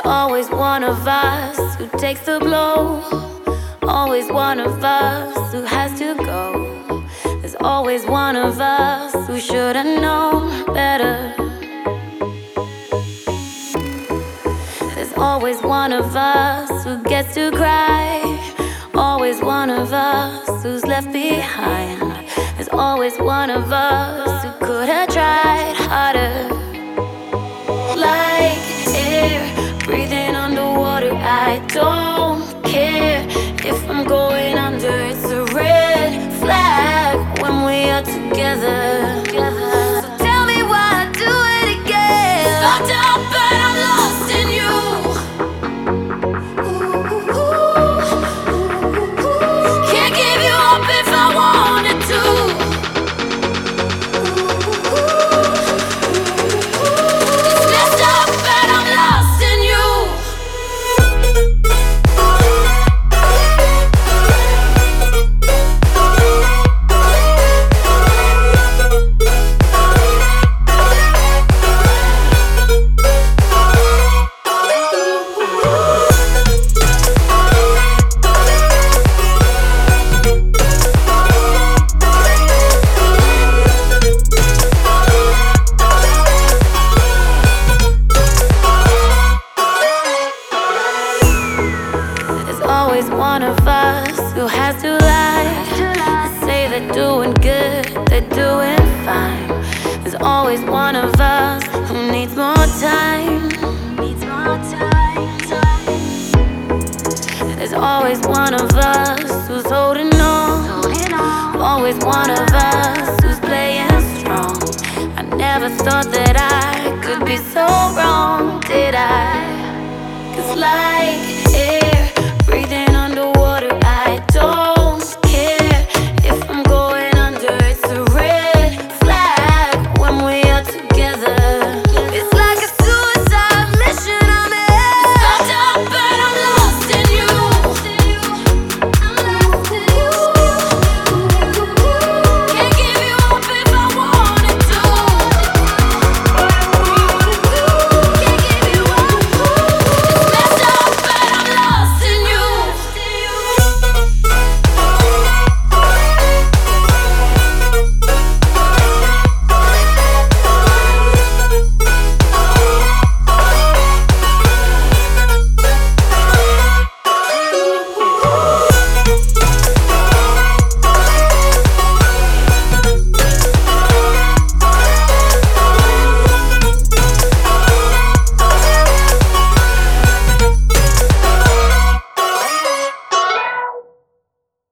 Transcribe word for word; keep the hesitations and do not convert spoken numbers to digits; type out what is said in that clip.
always one of us who takes the blow. Always one of us who has to go. There's always one of us who should've known better. There's always one of us who gets to cry. Always one of us who's left behind. There's always one of us who could have tried harder. Like air, breathing underwater, I don't care if I'm going under. It's a red flag when we are together. So tell me why I do it again. Fucked up but I'm lost in you. Can't give you up if I wanted to. It's messed up but I'm lost in you. Always one of us who has to lie. They say they're doing good, they're doing fine. There's always one of us who needs more time. Needs more time. There's always one of us who's holding on. Always one of us who's playing strong. I never thought that I could be so wrong, did I? 'Cause like